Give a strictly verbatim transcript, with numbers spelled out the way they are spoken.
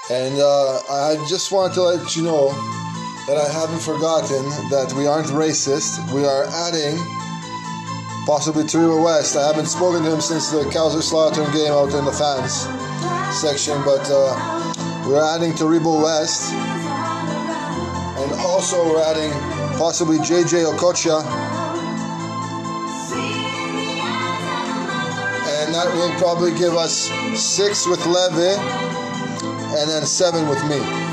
And uh, I just want to let you know that I haven't forgotten that we aren't racist. We are adding possibly Taribo West. I haven't spoken to him since the Kaiserslautern game out in the fans section, but uh, we're adding Taribo West. And also we're adding possibly J J Okocha. And that will probably give us six with Leve and then seven with me.